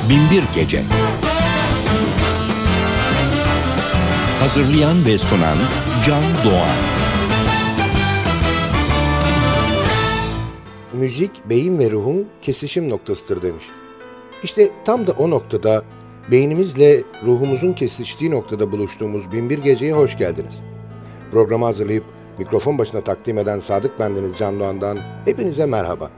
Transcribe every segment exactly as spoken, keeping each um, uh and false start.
Binbir Gece. Hazırlayan ve sunan Can Doğan. Müzik, beyin ve ruhun kesişim noktasıdır demiş. İşte tam da o noktada, beynimizle ruhumuzun kesiştiği noktada buluştuğumuz Binbir Gece'ye hoş geldiniz. Programı hazırlayıp mikrofon başına takdim eden Sadık bendeniz Can Doğan'dan hepinize merhaba.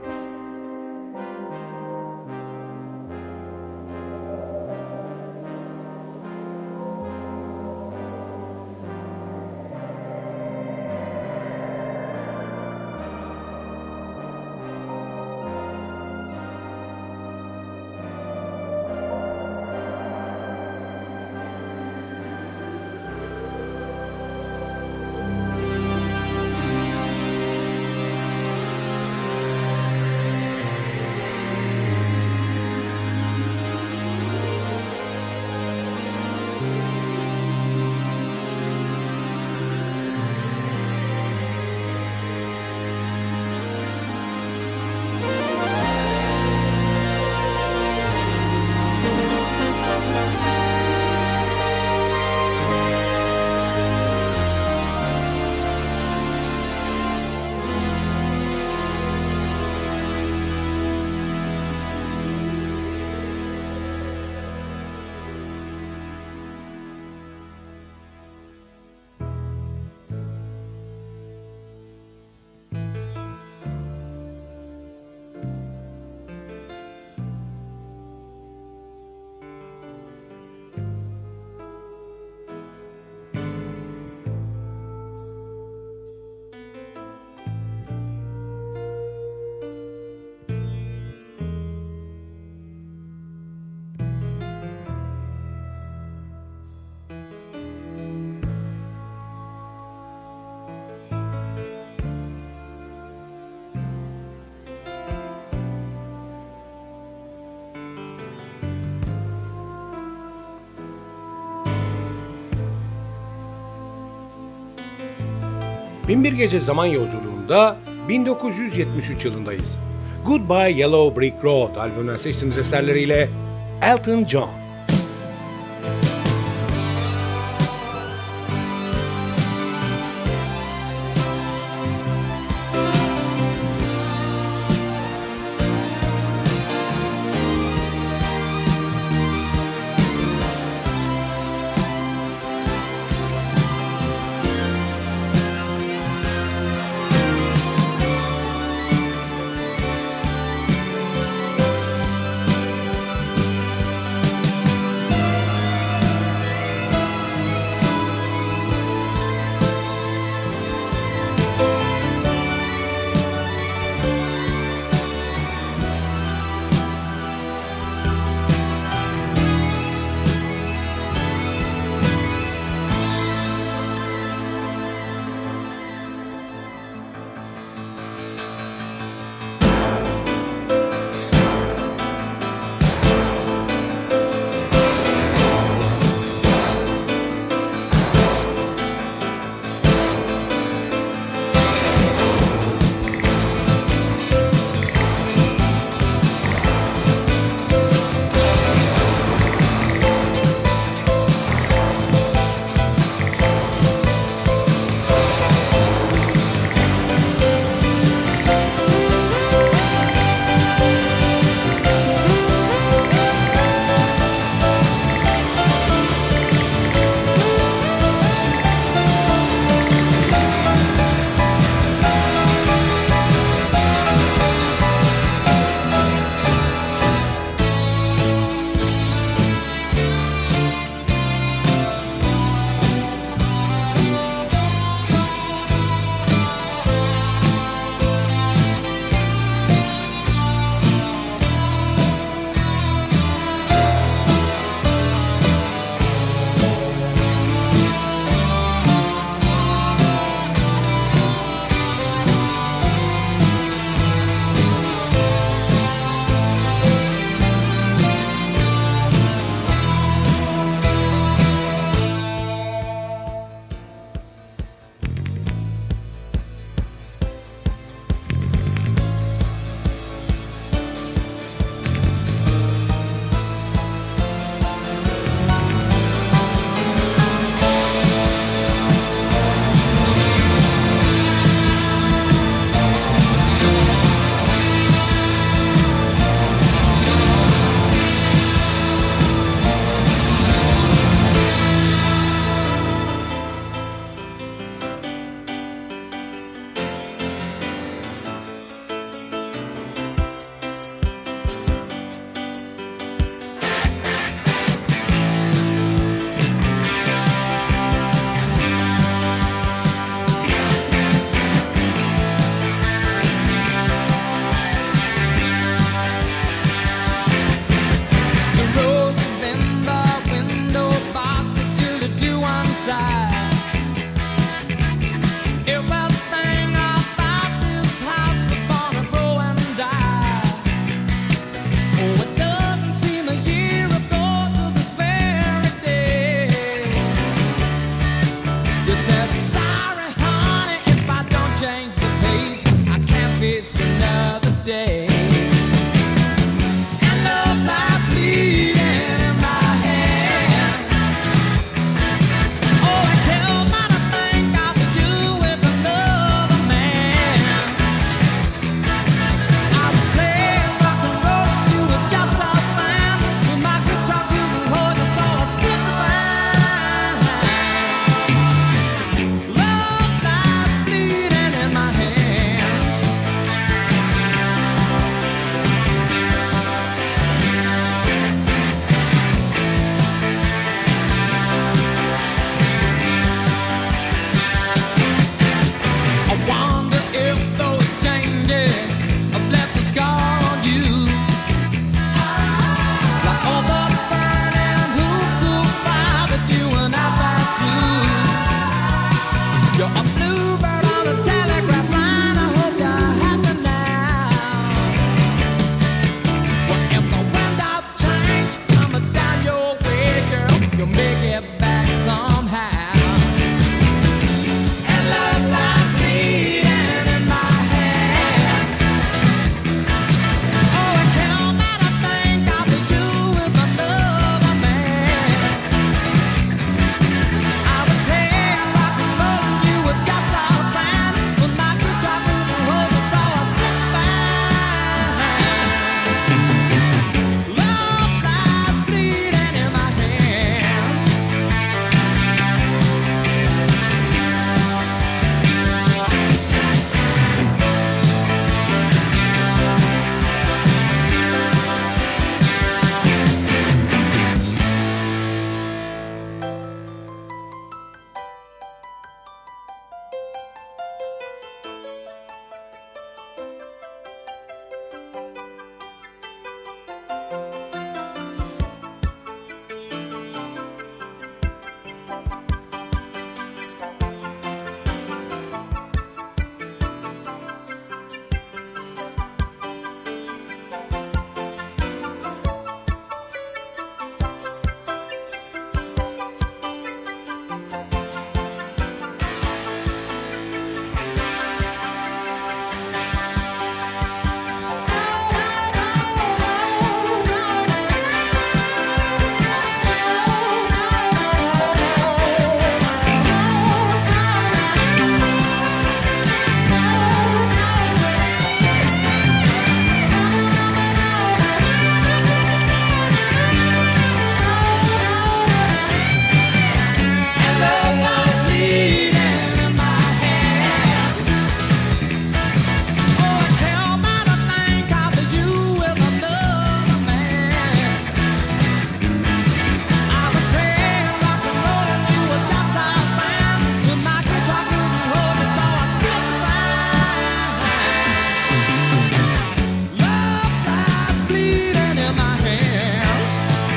Binbir Gece zaman yolculuğunda bin dokuz yüz yetmiş üç yılındayız. Goodbye Yellow Brick Road albümünden seçtiğimiz eserleriyle Elton John. day. And love lies bleeding in my hand. Oh, I tell me to think I could do with another man. I was playing rock and roll, you were just a fan. With my guitar, you hold your soul, I split the band. Love lies bleeding in my hands. I wonder if those changes have left a scar on you. Like all the burning hoops of fire that you and I passed through. You're a bluebird on a telegraph line. I hope you're happy now. Well, if the wind out change coming down your way, girl, you'll make it back somehow. And love lies bleeding in my hand. Oh, I can't let a thing out for you with another man. I was playing rock and roll, you were just a fan. With my guitar, you hold the soul, I split the band. Love lies bleeding in my hands. And love lies bleeding in my hands. Oh, I tell me to think I for you with another man. I was playing rock and roll and you were just a fan. With my guitar, you hold me, so I split the band. Love lies bleeding in my hands.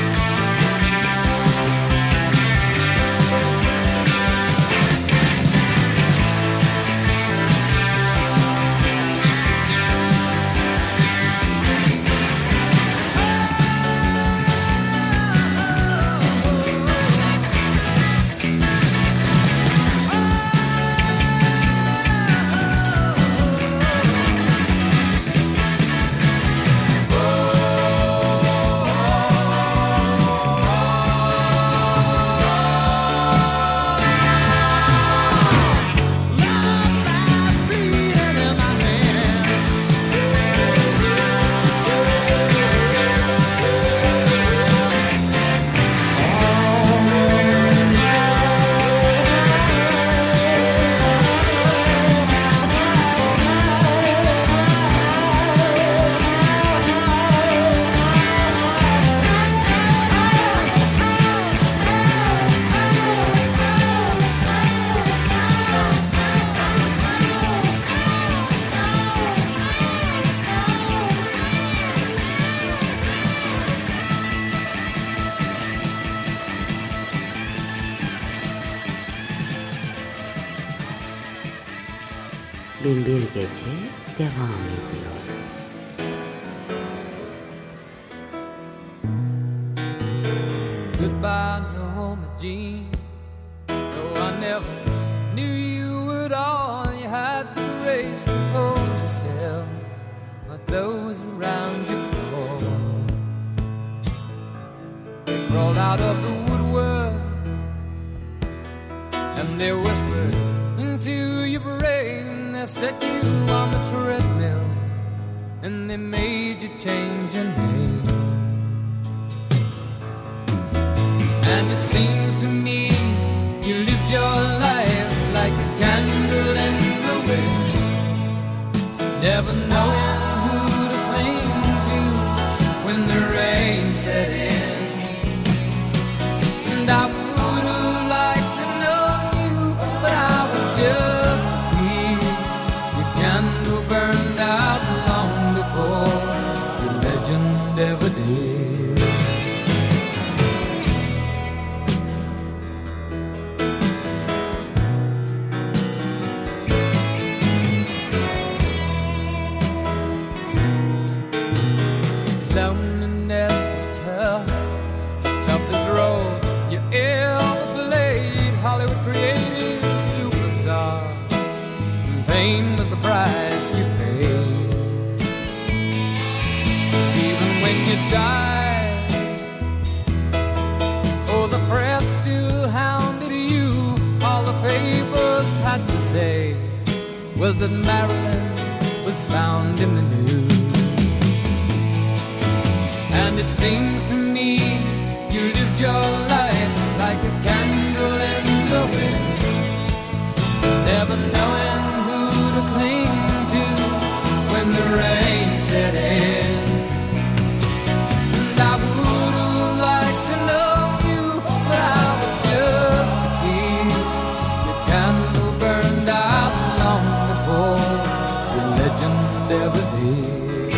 Love lies bleeding in my hands. Binbir Gece devam ediyor. Goodbye, Norma Jean. No, I never knew you at all. You had the grace to hold yourself. But those around you crawled. They crawled out of the woodwork and they whispered into your brain. They set you on the treadmill and they made you change your name. And it seems to me you lived your life like a candle in the wind, never knowing who to cling to when the rain set in. And I would have liked to know you, but I was just a kid. Your candle burned out long before your legend ever did. Loneliness was tough, the toughest role you ever played. Hollywood created a superstar, and pain was the price you paid. Even when you died, oh, the press still hounded you. All the papers had to say was that Marilyn was found in the news. And it seems to me you lived your life like a candle in the wind, never knowing who to cling to when the rain set in. And I would have liked to know you, but I was just a kid. Your candle burned out long before your legend ever did.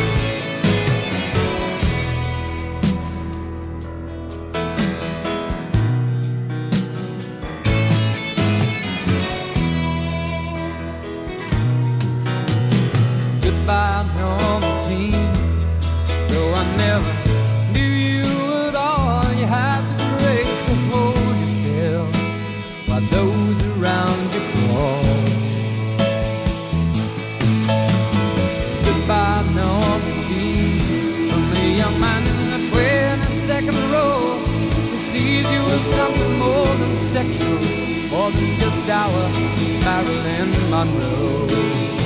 Goodbye, normal teen. Though I never knew you at all, you had the grace to hold yourself while those around you crawl. Goodbye, normal teen. From the young man in the twenty-second row who sees you as something more than sexual, more than just our Marilyn Monroe.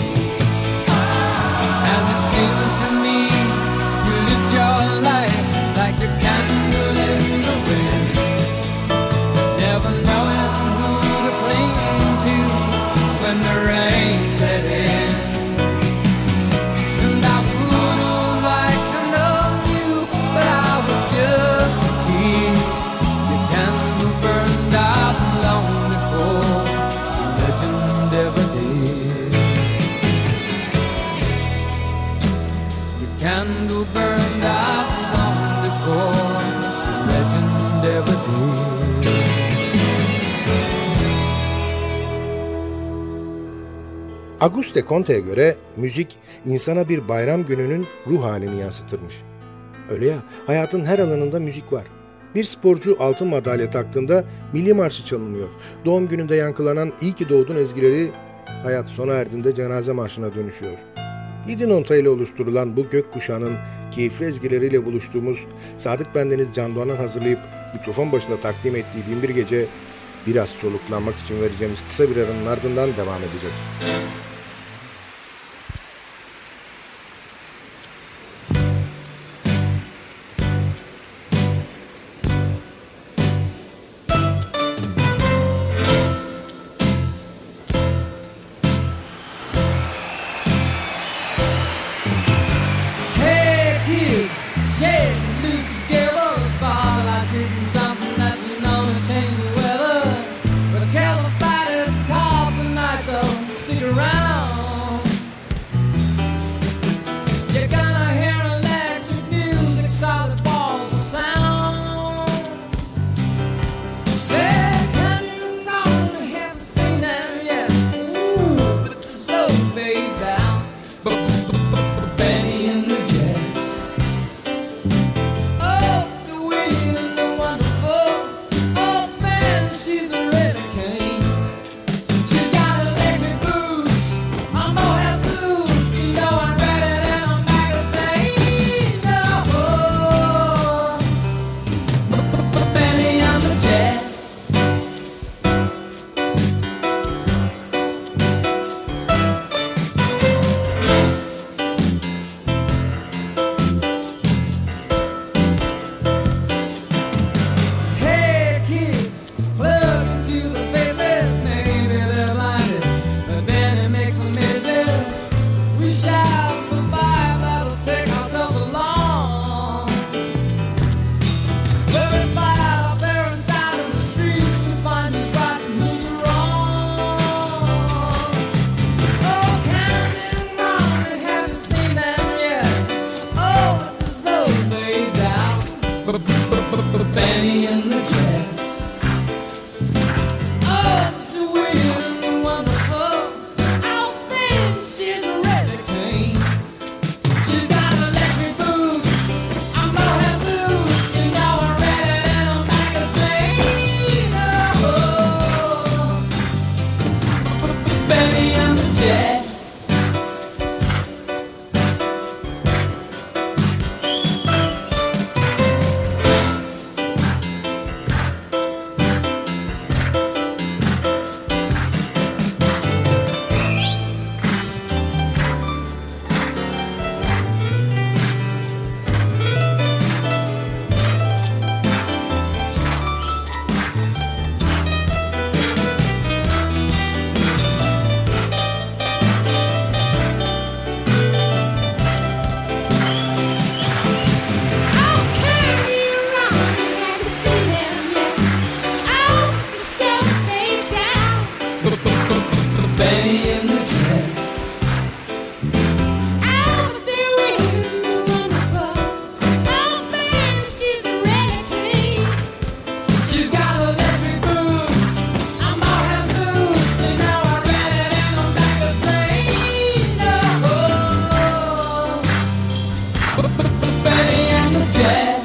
And it seems to me you lived your life like a candle in the wind, never knowing who to cling to when the rain set in. And I would have liked to know you, but I was just a kid. Your candle burned out long before the legend ever did. Candle burned out long before the legend ever did. Auguste Comte'ye göre müzik insana bir bayram gününün ruh halini yansıtırmış. Öyle ya, hayatın her alanında müzik var. Bir sporcu altın madalya taktığında milli marşı çalınıyor. Doğum gününde yankılanan "İyi ki doğdun" ezgileri hayat sona erdiğinde cenaze marşına dönüşüyor. Yedi nota ile oluşturulan bu gökkuşağının keyifli ezgileriyle buluştuğumuz Sadık Bendeniz Can Doğan'ın hazırlayıp mikrofon başında takdim ettiği Binbir Gece biraz soluklanmak için vereceğimiz kısa bir aranın ardından devam edecek. Around Benny and the Jets.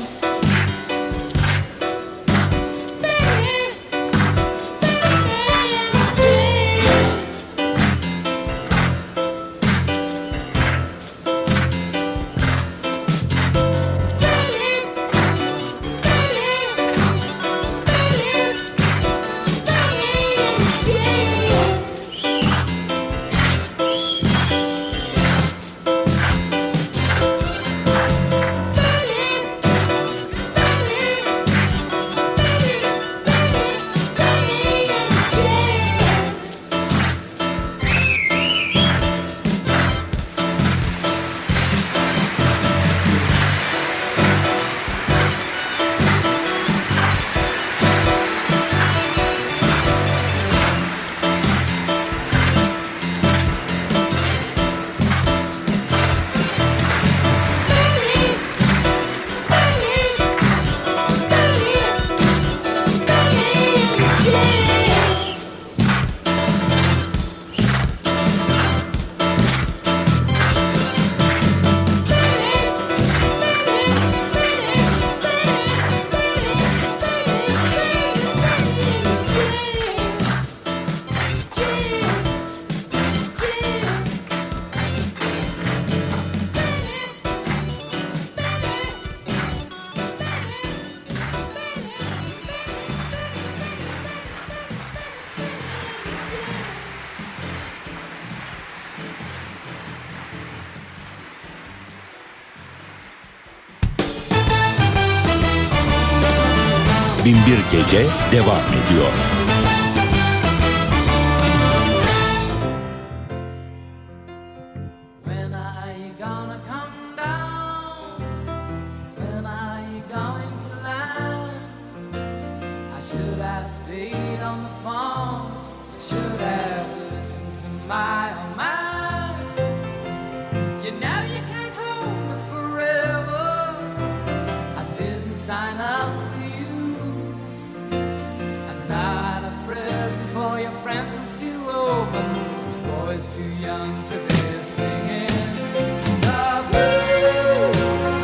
Binbir Gece devam ediyor. When are you gonna come down? When are you going to land? I should have stayed on the phone. I should have listened to my own mind. You know you can't hold me forever. I didn't sign up with you. I'm not a present for your friends to open. This boy's too young to be singing the blues.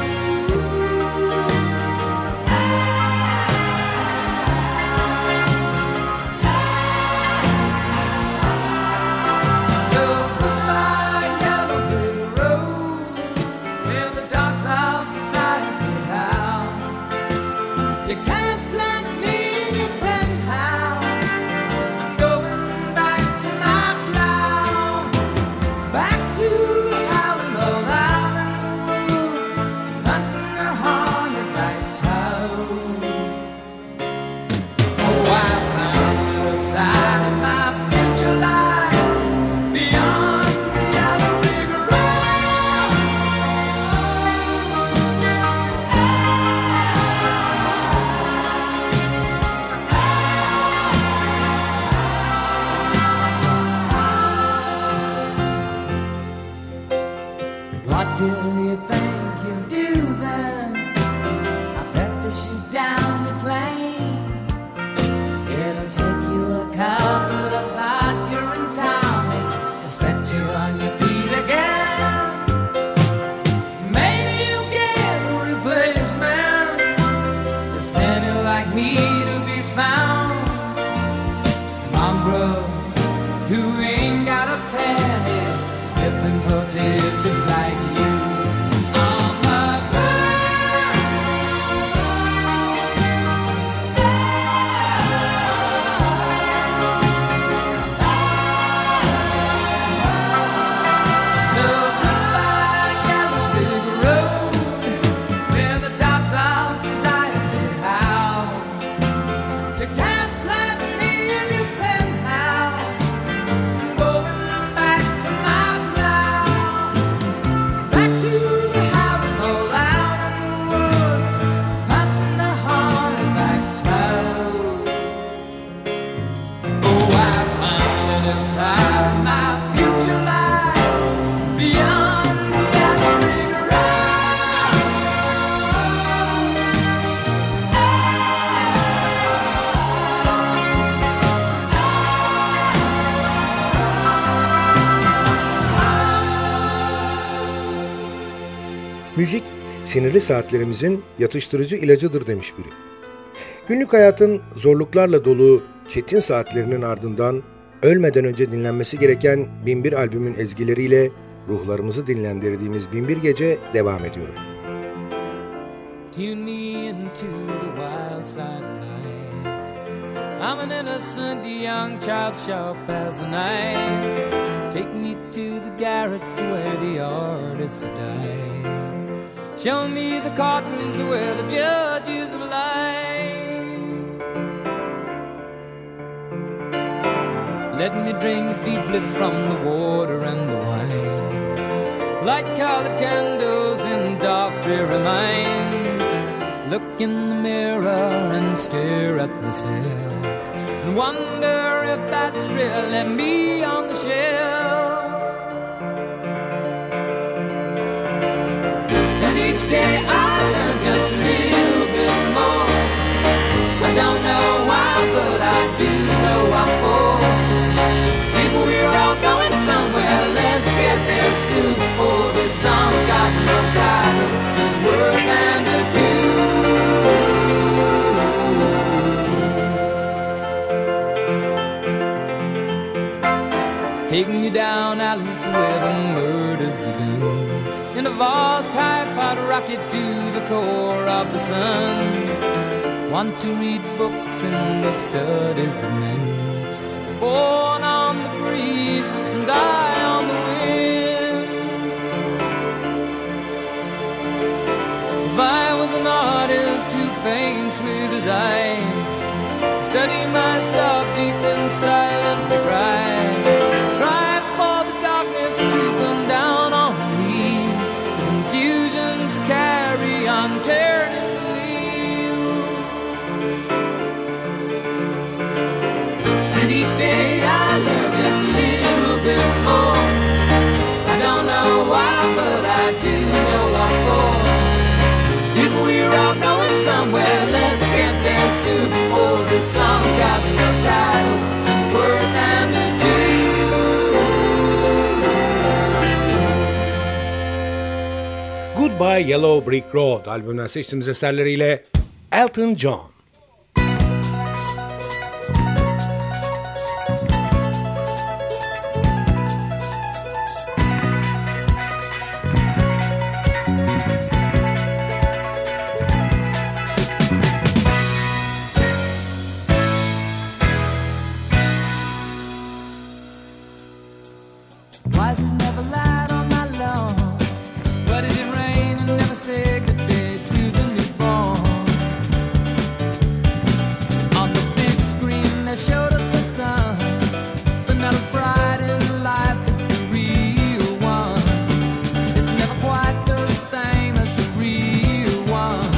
So goodbye, yellow brick road, where the dogs of society howl. You can't plant me in your penthouse. I'm going back to my plow, back to the howling old out in the woods, hunting a hornet-like toad. Oh, I found a side of my future lies beyond the yellow brick road. What do you think you'll do then? I bet they shoot down the plane. It'll take you a couple of hot urine tonics to set you on your feet again. Maybe you'll get a replacement. There's plenty like me to be found. Mongrels who ain't got a penny, sniffing for tidbits like you. On the ground. So goodbye, yellow brick road, where the dogs of society howl. You can't plant me in your penthouse. I'm going back to my plow, back to the howling old out in the woods, hunting the hornet-like toad. Oh, I found a side of my future lies beyond the yellow brick road. Müzik sinirli saatlerimizin yatıştırıcı ilacıdır demiş biri. Günlük hayatın zorluklarla dolu çetin saatlerinin ardından ölmeden önce dinlenmesi gereken Binbir albümün ezgileriyle ruhlarımızı dinlendirdiğimiz Binbir Gece devam ediyor. Tune me into the wild side of life. I'm an innocent young child, sharp as a knife. Take me to the garrets where the artists die. Show me the courtrooms where the judges lie. Let me drink deeply from the water and the wine. Light colored candles in dark dreary minds. Look in the mirror and stare at myself and wonder if that's really me on the shelf. And each day I learn just a little bit more. I don't know why, but I do know what for. If we're all going somewhere, let's get there soon. Oh, this song's got no title, just words and a tune. Take me down alleys where the murders are done. In a vast high-pot rocket to the core of the sun. Want to read books in the studies of men. Born on the breeze and die on the wind. If I was an artist who paints with his eyes, study my subject and silently cry. Cry for the darkness to come down on me, for confusion to carry on turning the wheel. And each day I learn just a little bit more. I don't know why, but I do know what for. If we're all going somewhere, let's get there soon. Oh, this song's got no title, just words and a tune. Goodbye Yellow Brick Road albümünden seçtiğimiz eserleriyle Elton John. Why is it never light on my lawn? Why did it rain and never say good day to the newborn? On the big screen they showed us the sun, but not as bright in life as the real one. It's never quite the same as the real one.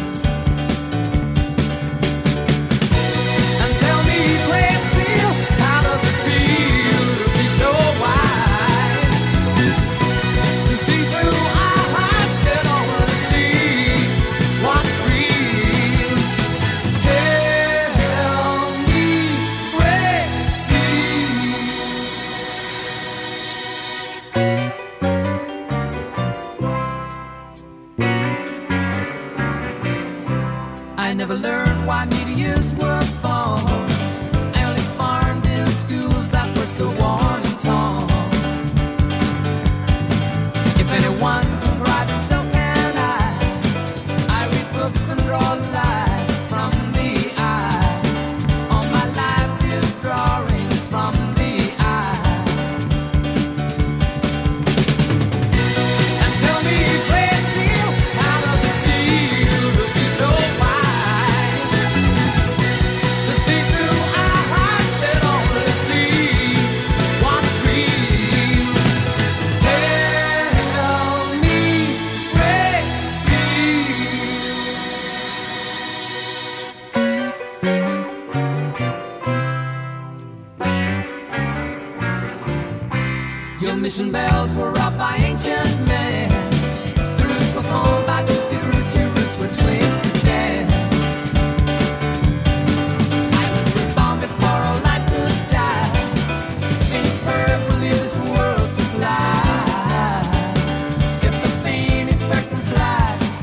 And tell me, crazy, how does it feel to be so wise? To see through our hearts that only see what's real. Tell me, crazy. I never learned why meteors were formed. I only farmed in schools that were so worn and torn. If anyone can cry, then so can I. I read books and draw life from the eye. All my life is drawings from the eye. And tell me, crazy, how does it feel to be so wise? To see through our hearts that only see what's real. Tell me, crazy. Your mission bells were up by ancient men. The roots were formed by twisted roots. Your roots were twisted then. I was reborn before all life could die. Phoenix bird will leave this world to fly. If the phoenix bird can fly, then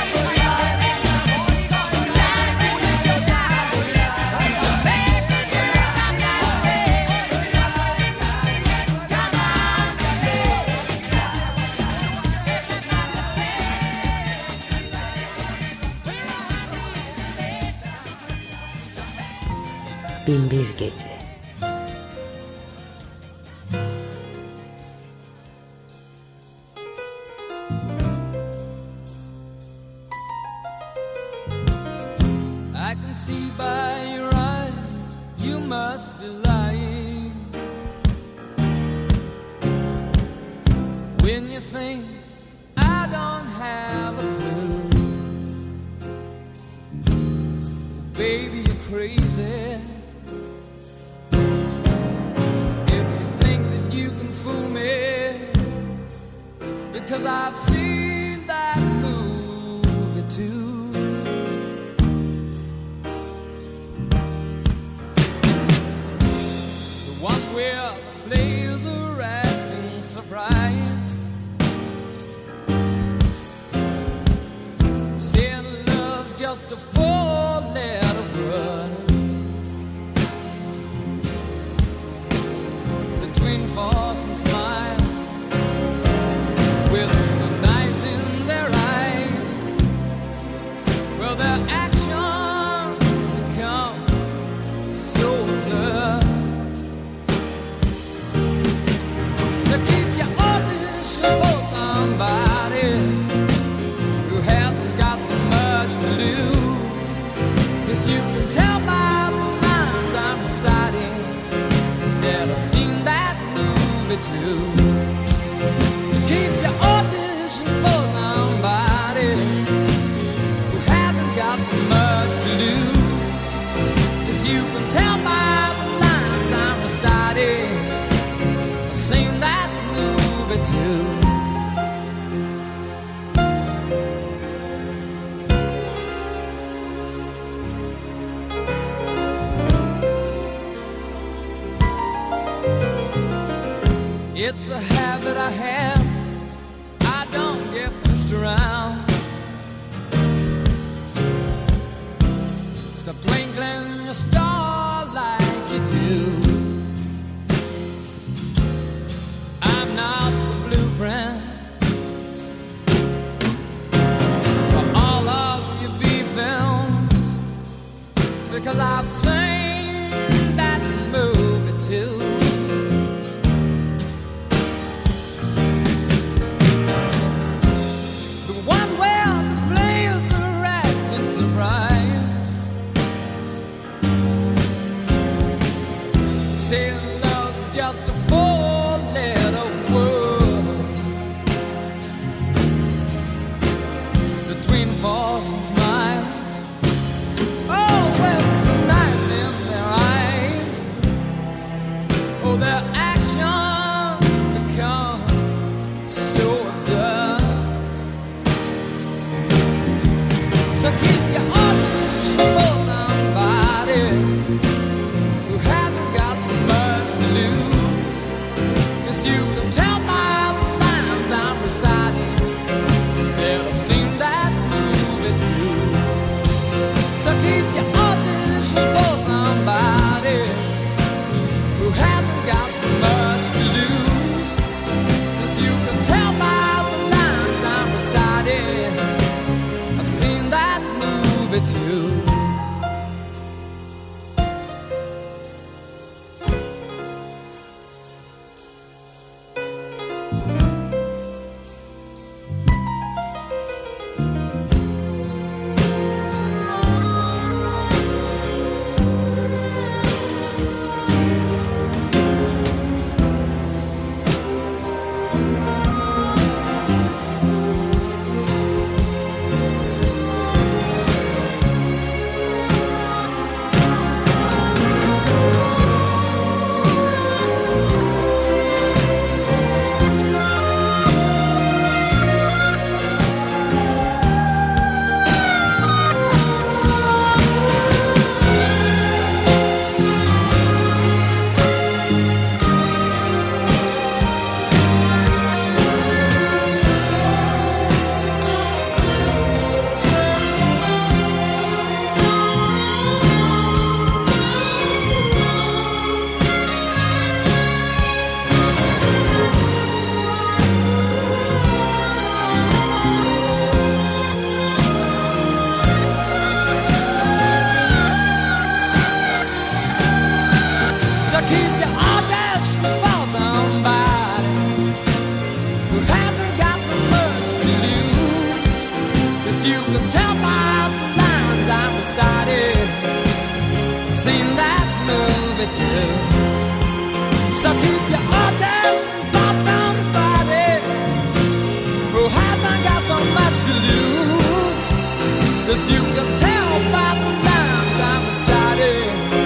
Binbir Gece. I can see by your eyes you must be lying when you think I don't have a clue. Baby, you're crazy if you think that you can fool me, because I've seen that movie too. One where the players are acting surprised, saying love's just a four-letter word between force and smile, with the knives in their eyes. Well, their actions become so absurd. So keep your audition for somebody who hasn't got so much to lose. 'Cause lose. 'Cause you can tell by the lines I'm reciting. I've seen that movie too. It's a habit I have, I don't get pushed around. Stop twinkling your star like you do. I'm not the blueprint for all of your B films, because I've seen that movie too. Say love's just a four-letter word between force and smiles. Oh, well, the night in their eyes. Oh, their actions become so absurd. So keep your auditions for somebody who hasn't got so much to lose. 'Cause you can tell by the lines I'm reciting that I've seen that movie too. So keep your auditions for somebody who hasn't got so much to lose. 'Cause you can tell by the lines I'm reciting I've seen that movie too. Keep your auditions for somebody who hasn't got so much to lose. 'Cause you can tell by the lines I'm reciting seen that movie too. So keep your auditions for somebody who hasn't got so much to lose. 'Cause you can tell by the lines I'm reciting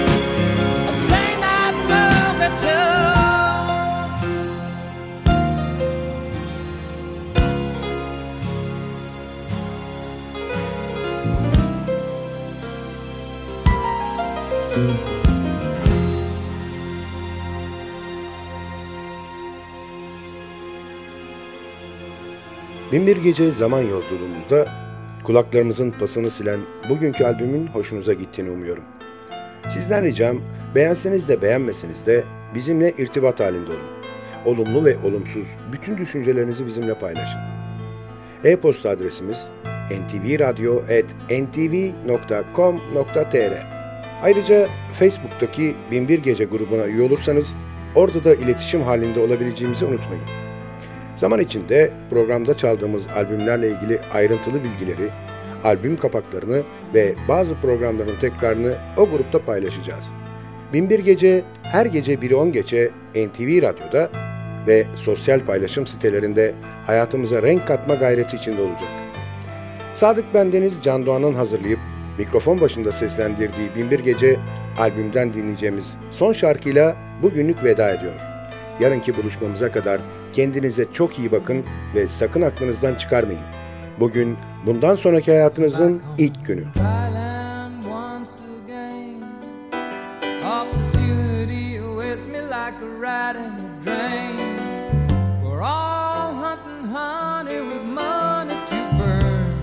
Binbir Gece zaman yolculuğumuzda kulaklarımızın pasını silen bugünkü albümün hoşunuza gittiğini umuyorum. Sizden ricam, beğenseniz de beğenmeseniz de bizimle irtibat halinde olun. Olumlu ve olumsuz bütün düşüncelerinizi bizimle paylaşın. E-posta adresimiz en ti vi radyo at en ti vi nokta com nokta te er. Ayrıca Facebook'taki Binbir Gece grubuna üye olursanız orada da iletişim halinde olabileceğimizi unutmayın. Zaman içinde programda çaldığımız albümlerle ilgili ayrıntılı bilgileri, albüm kapaklarını ve bazı programların tekrarını o grupta paylaşacağız. Binbir Gece her gece biri on geçe N T V Radyo'da ve sosyal paylaşım sitelerinde hayatımıza renk katma gayreti içinde olacak. Sadık Bendeniz Can Doğan'ın hazırlayıp mikrofon başında seslendirdiği Binbir Gece albümden dinleyeceğimiz son şarkıyla bugünlük veda ediyor. Yarınki buluşmamıza kadar kendinize çok iyi bakın ve sakın aklınızdan çıkarmayın. Bugün bundan sonraki hayatınızın ilk günü. Thailand once again. Opportunity awaits me like a rat in a drain. We're all hunting honey with money to burn.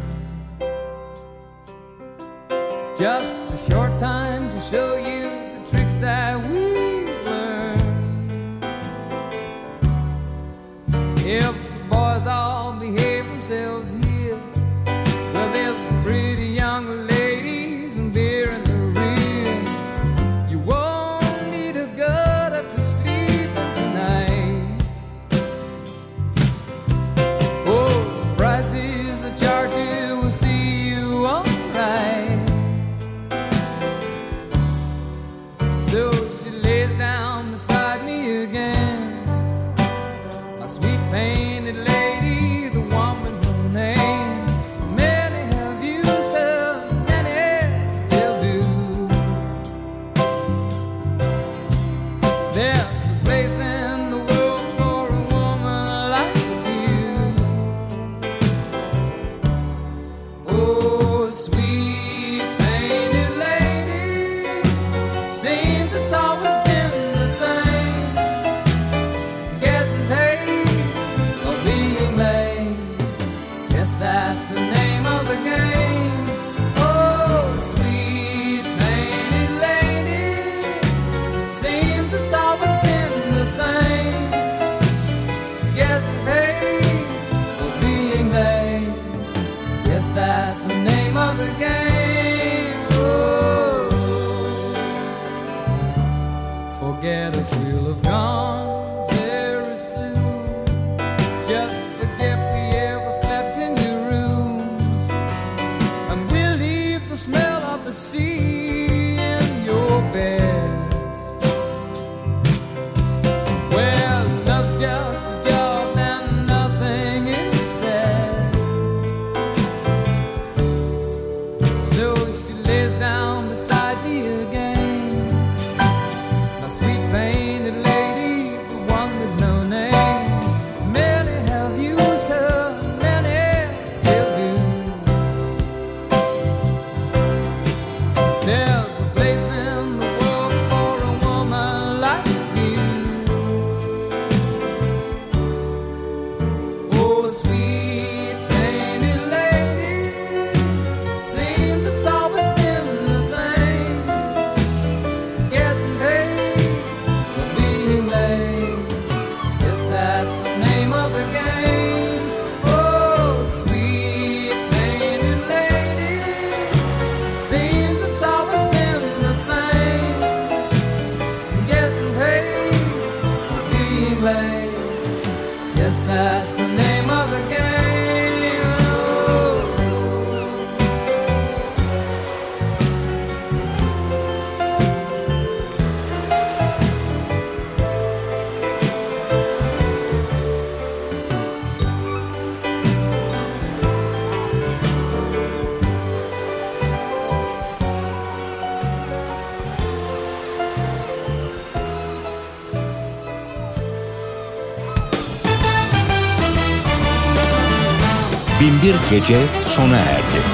Just a short time to show you the tricks that we've learned. If the boys all behave themselves here, well, there's some pretty young ladies and beer in the rear. You won't need a gutter to sleep in tonight. Oh, the prices they charge you will see you alright. So she lays down beside me again, a sweet painted lady, the one with no name. Many have used her, many still do. There's a place in the world for a woman like you. Oh, sweet painted lady, seems it's always been the same. Getting paid or being late, guess that's the name of the game. Oh, sweet painted lady, seems it's always been the same. Getting paid or being late, guess that's the name of the game. Oh, forget us, we'll have gone very soon. Just forget we ever slept in your rooms, and we'll leave the smell of the sea in your beds. Well, love's just a job and nothing is said. So she lays down beside me again, my sweet painted lady, the one with no name. Many have used her, many still do. There's a place in the world for a woman like you. Oh, sweet painted lady, seems it's always been the same. Getting paid for being late, guess that's the name of the game. Oh, sweet painted lady, seems it's always been the same. Getting paid for being late, guess that's the name of the game. Oh. Binbir Gece sona erdi.